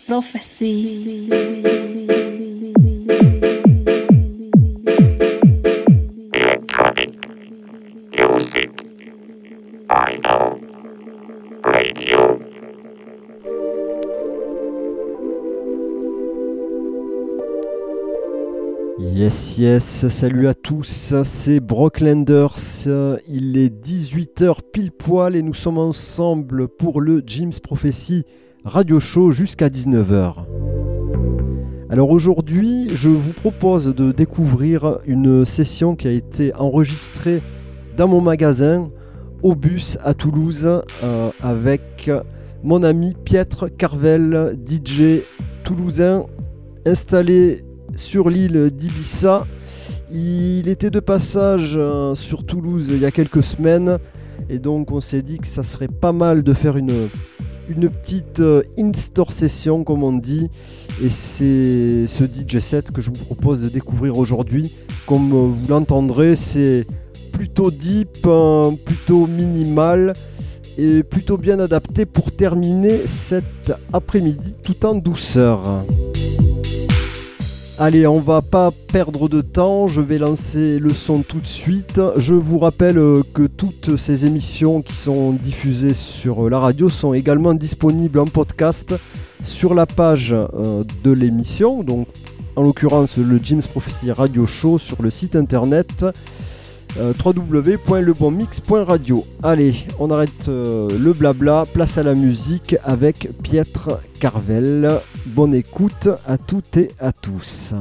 Prophecy. Music. I know. Radio. Yes, salut à tous, c'est Brocklanders, il est 18h pile poil et nous sommes ensemble pour le Jim's Prophecy Radio Show jusqu'à 19h. Alors aujourd'hui, je vous propose de découvrir une session qui a été enregistrée dans mon magasin au bus à Toulouse avec mon ami Pietre Carvel, DJ toulousain installé sur l'île d'Ibiza. Il était de passage sur Toulouse il y a quelques semaines et donc on s'est dit que ça serait pas mal de faire une petite in-store session comme on dit, et c'est ce DJ set que je vous propose de découvrir aujourd'hui. Comme vous l'entendrez, c'est plutôt deep, plutôt minimal et plutôt bien adapté pour terminer cet après-midi tout en douceur. Allez, on va pas perdre de temps, je vais lancer le son tout de suite. Je vous rappelle que toutes ces émissions qui sont diffusées sur la radio sont également disponibles en podcast sur la page de l'émission, donc en l'occurrence le Jim's Prophecy Radio Show sur le site internet www.lebonmix.radio. Allez, on arrête le blabla, place à la musique avec Pietre Carvel. Bonne écoute à toutes et à tous.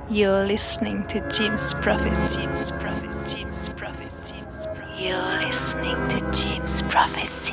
You're listening to Jim's Prophecy. Jim's Prophecy. Jim's Prophecy. Jim's Prophecy. You're listening to Jim's Prophecy.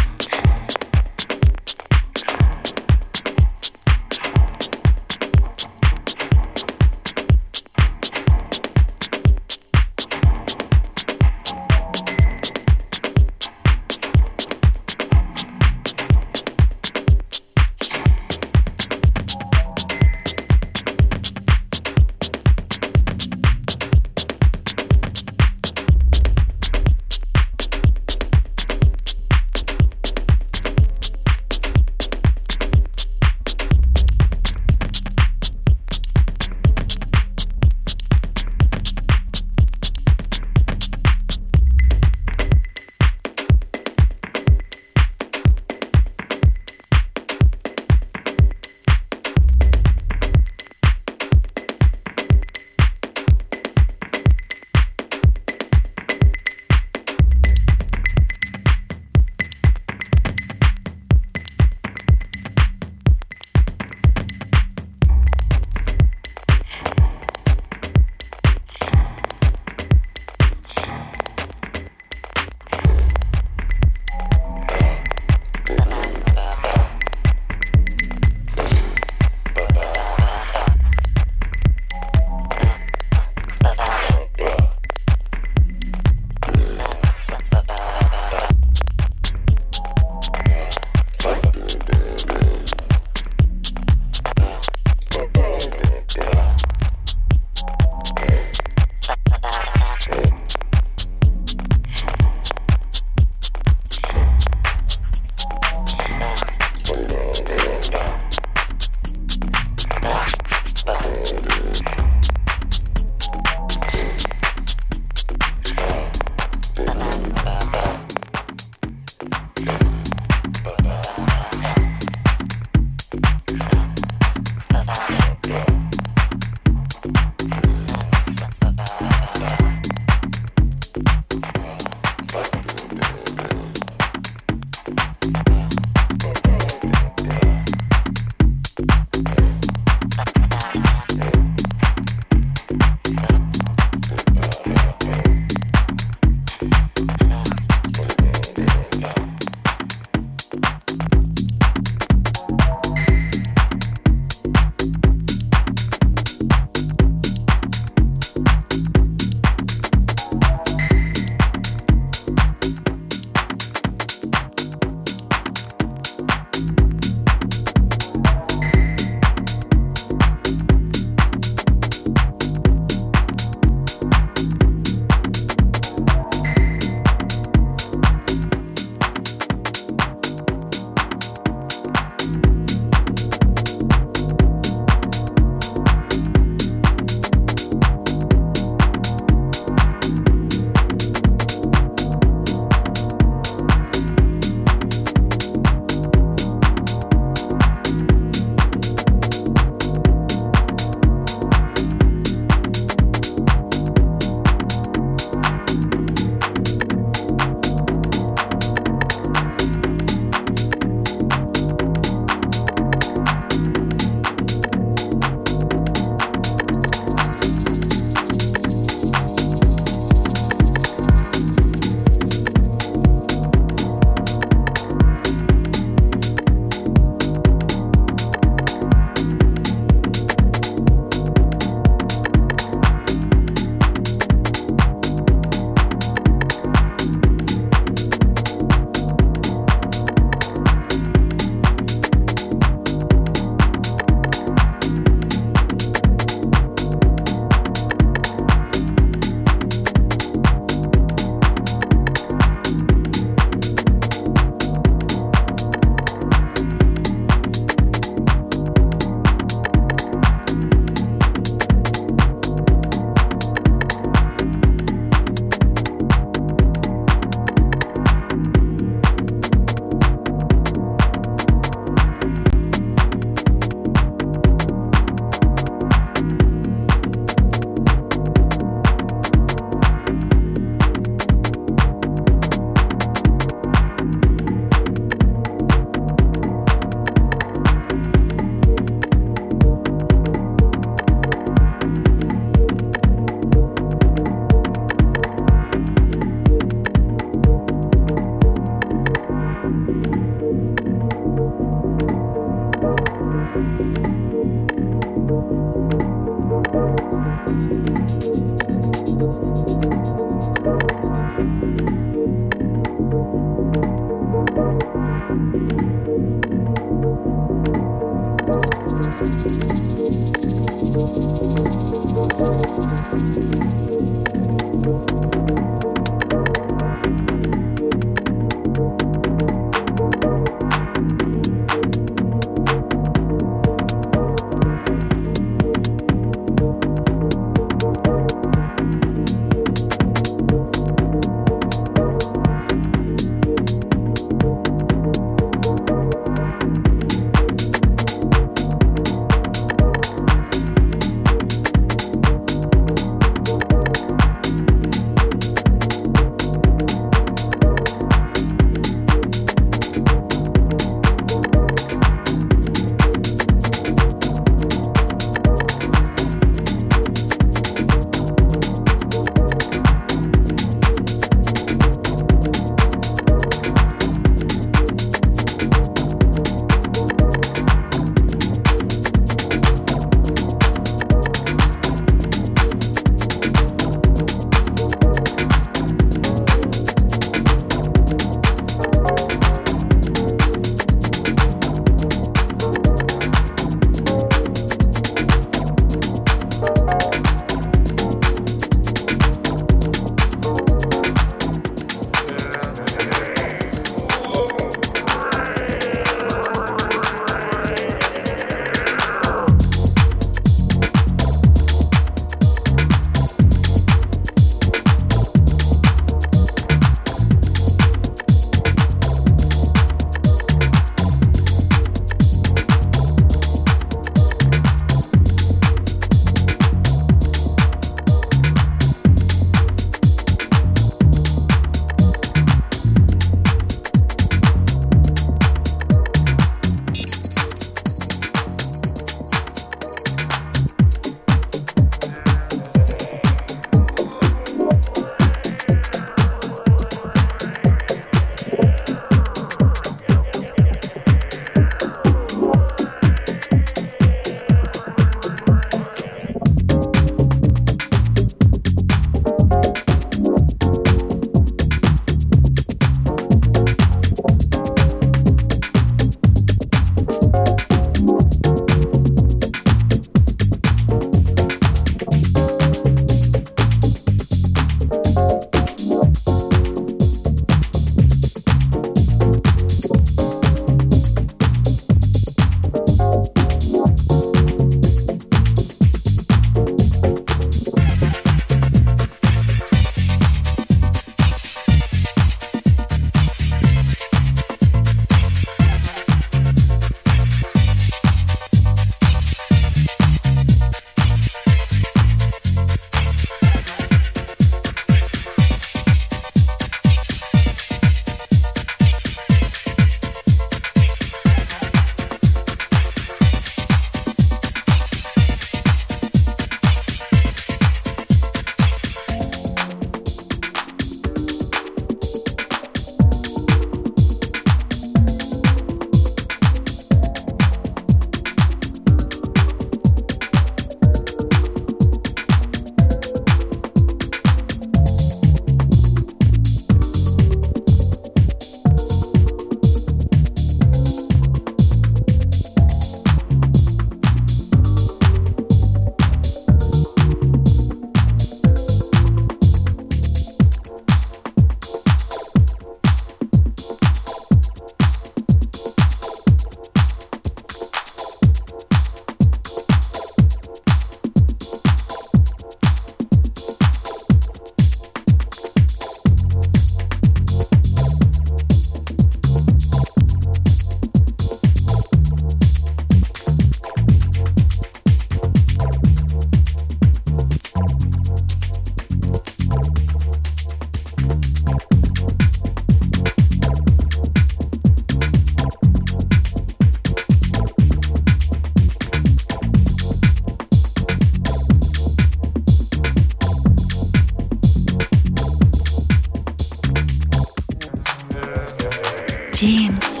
James.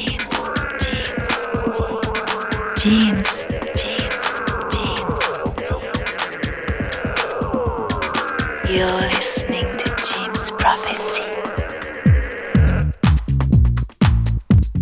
You're listening to James Prophecy.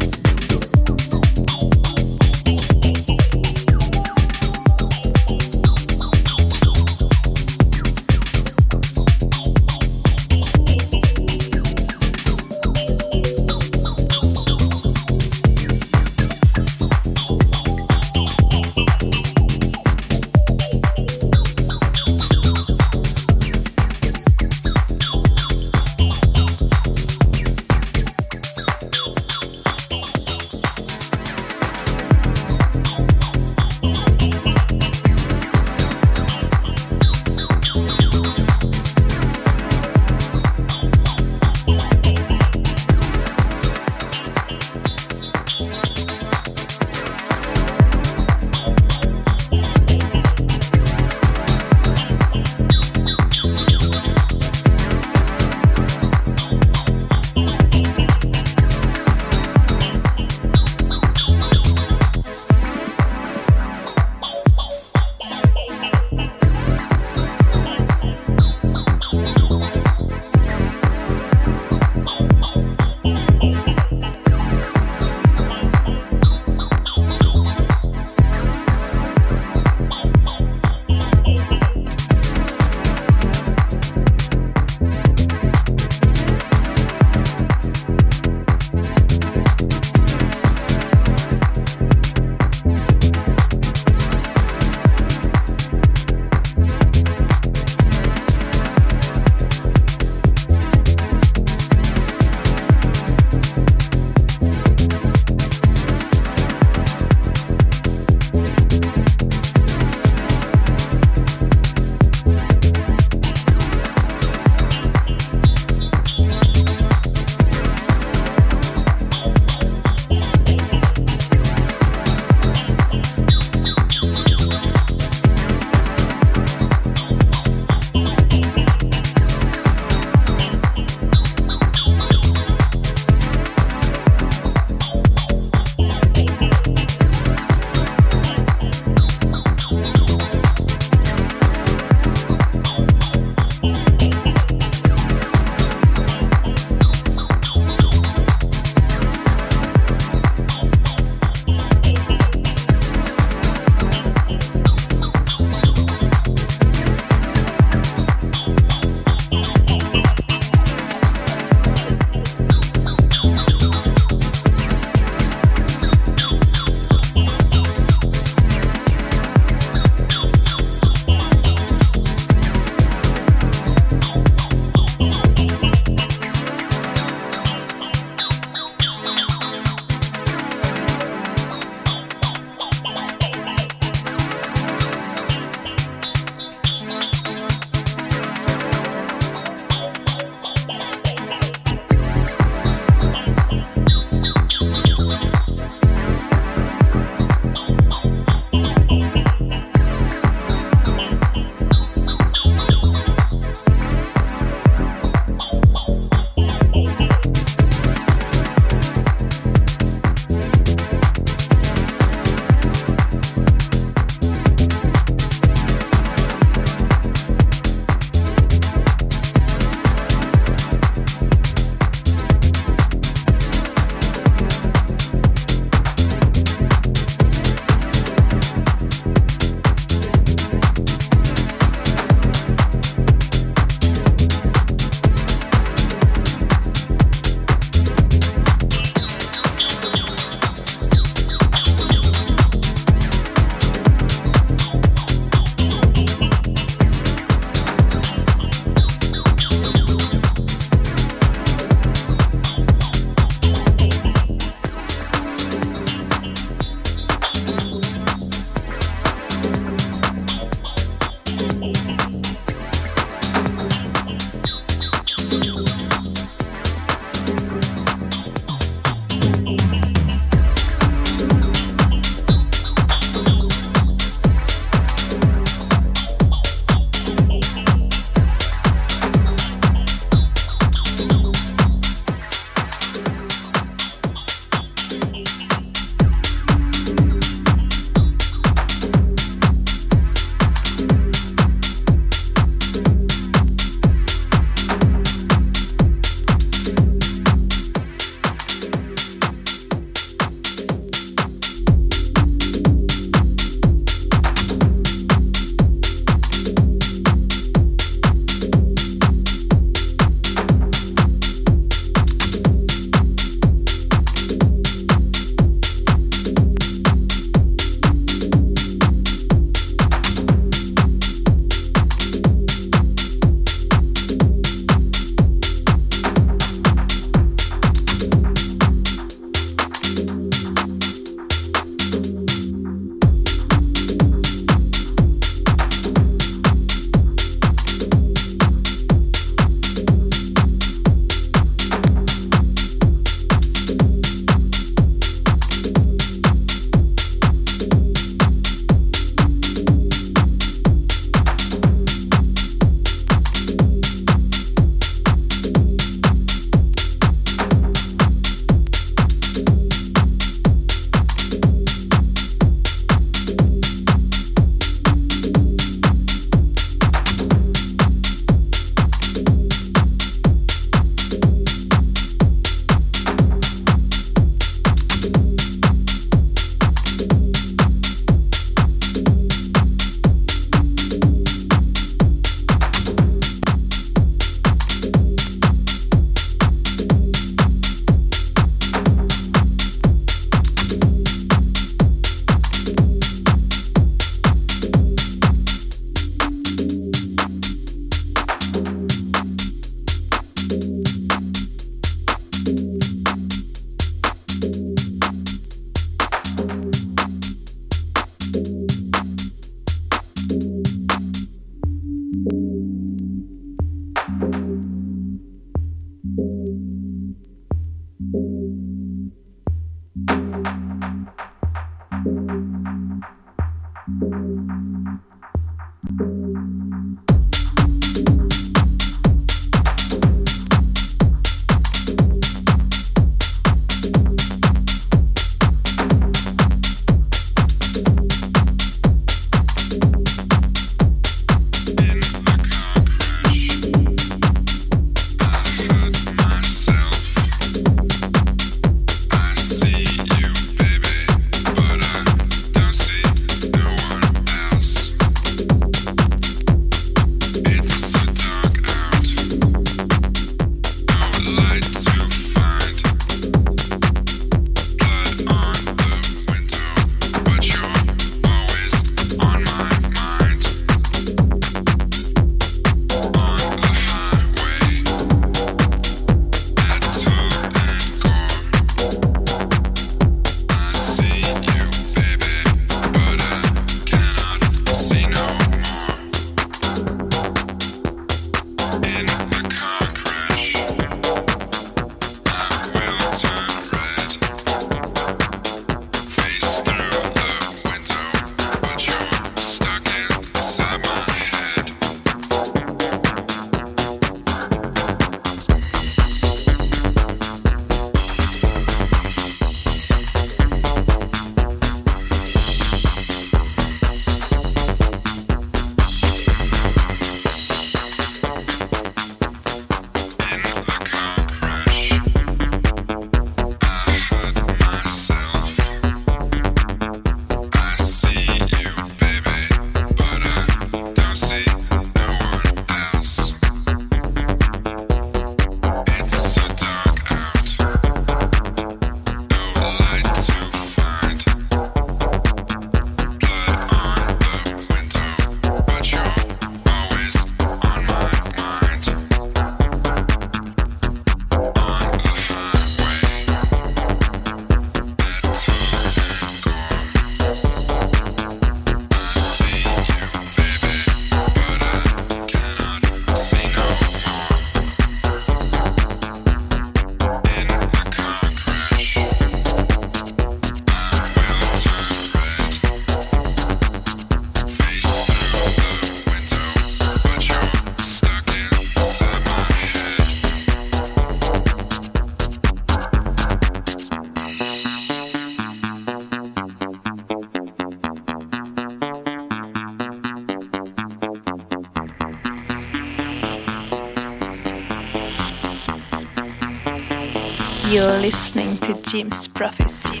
You're listening to Jim's Prophecy.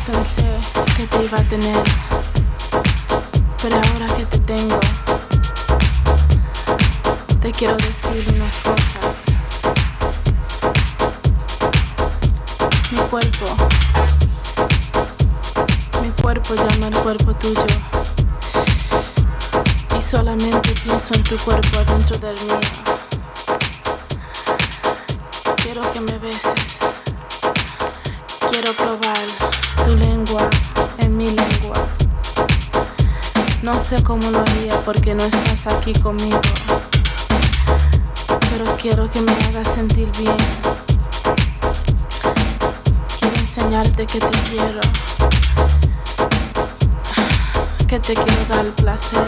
pensé que te iba a tener, pero ahora que te tengo, te quiero decir unas cosas. Mi cuerpo llama al cuerpo tuyo, y solamente pienso en tu cuerpo adentro del mío. Quiero que me beses, quiero probar tu lengua en mi lengua. No sé cómo lo haría porque no estás aquí conmigo, pero quiero que me hagas sentir bien. Quiero enseñarte que te quiero, que te quiero dar el placer.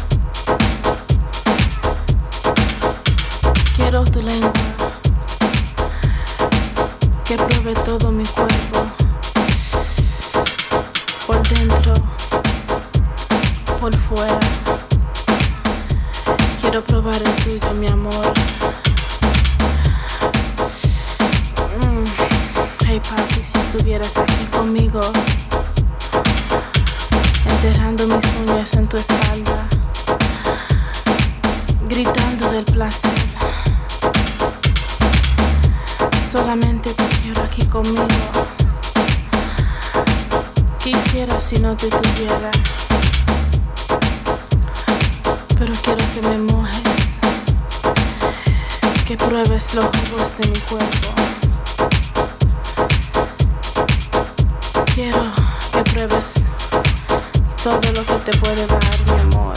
Quiero tu lengua, que pruebe todo mi cuerpo, por dentro, por fuera. Quiero probar el tuyo, mi amor. Hey papi, si estuvieras aquí conmigo, enterrando mis uñas en tu espalda, gritando del placer. Solamente te quiero aquí conmigo. Quisiera si no te tuviera, pero quiero que me mojes, que pruebes los jugos de mi cuerpo. Quiero que pruebes todo lo que te puede dar mi amor.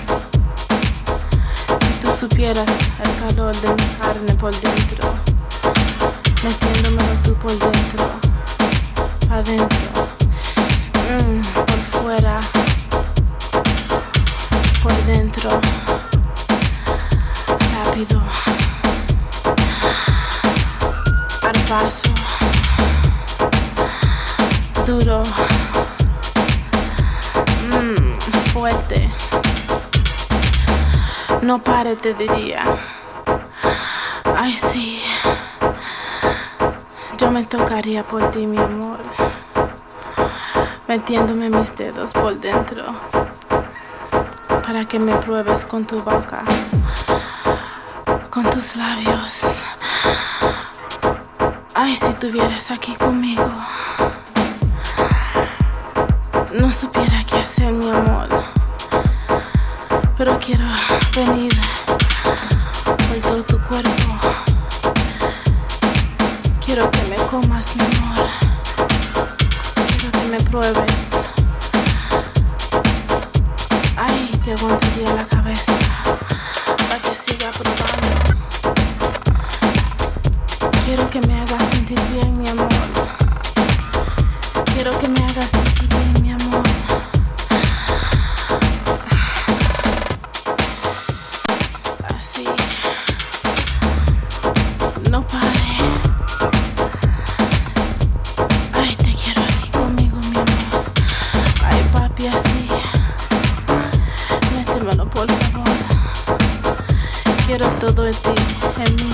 Si tú supieras el calor de mi carne por dentro, metiéndomelo tú por dentro, adentro, por fuera, por dentro, rápido, al paso, duro, fuerte. No pare, te diría. Ay, sí. Yo me tocaría por ti, mi amor, metiéndome mis dedos por dentro, para que me pruebes con tu boca, con tus labios. Ay, si estuvieras aquí conmigo, no supiera qué hacer, mi amor, pero quiero venir por todo tu cuerpo. Quiero que me comas, mi amor. Quiero que me pruebes. Ay, te aguantaría la cabeza para que siga probando. Quiero que me hagas sentir bien, mi amor. Quiero que me hagas sentir bien, mi amor. Así. No pare. Quiero todo de ti en mí.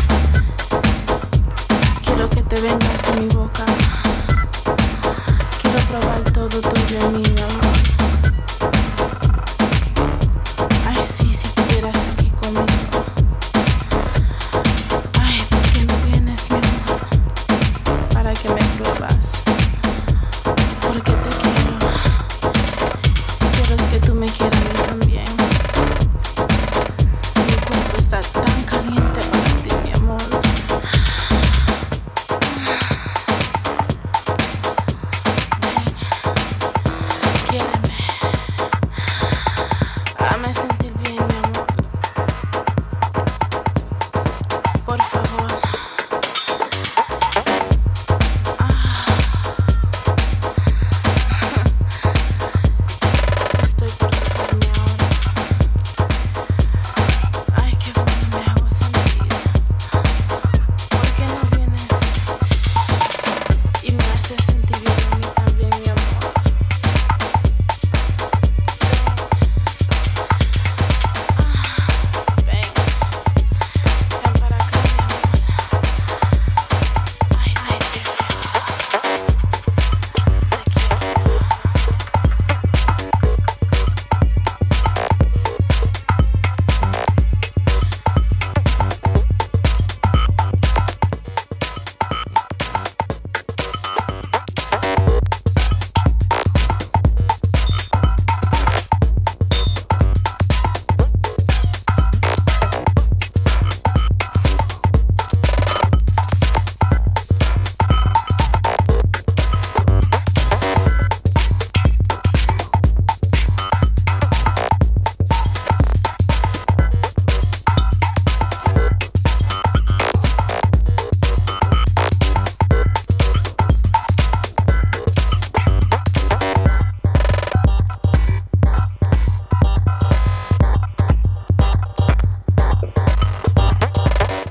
Quiero que te vengas en mi boca. Quiero probar todo tuyo en mí, mi amor. Ay, sí, si estuvieras aquí conmigo. Ay, ¿por qué no vienes, mi amor? Para que me pruebas. Porque te quiero. Quiero que tú me quieras a mí también. Está tan caliente para ti, mi amor. Ven,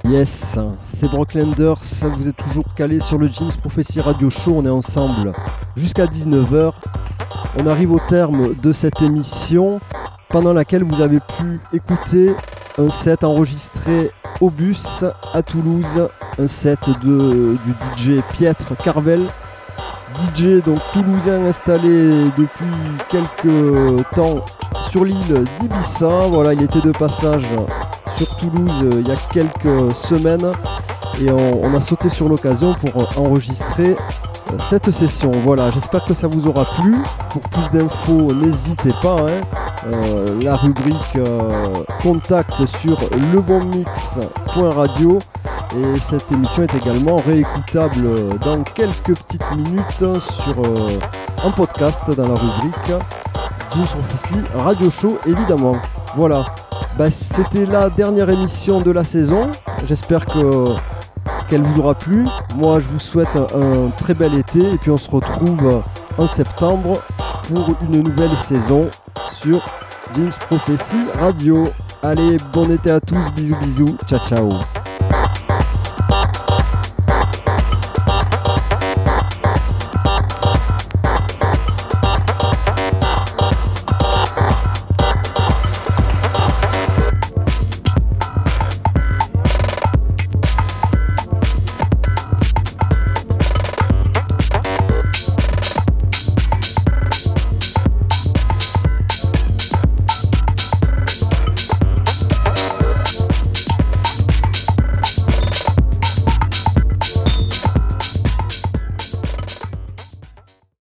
Yes, c'est Brocklanders, vous êtes toujours calés sur le James Prophecy Radio Show, on est ensemble jusqu'à 19h. On arrive au terme de cette émission pendant laquelle vous avez pu écouter un set enregistré au bus à Toulouse, un set du DJ Pietre Carvel, DJ donc toulousain installé depuis quelques temps sur l'île d'Ibiza. Voilà, il était de passage sur Toulouse il y a quelques semaines et on a sauté sur l'occasion pour enregistrer cette session. Voilà, j'espère que ça vous aura plu. Pour plus d'infos, n'hésitez pas, la rubrique contact sur lebonmix.radio et cette émission est également réécoutable dans quelques petites minutes sur un podcast dans la rubrique James Prophecy Radio Show évidemment. Voilà, c'était la dernière émission de la saison, j'espère qu'elle vous aura plu. Moi je vous souhaite un très bel été et puis on se retrouve en septembre pour une nouvelle saison sur James Prophecy Radio. Allez, bon été à tous, bisous bisous, ciao ciao.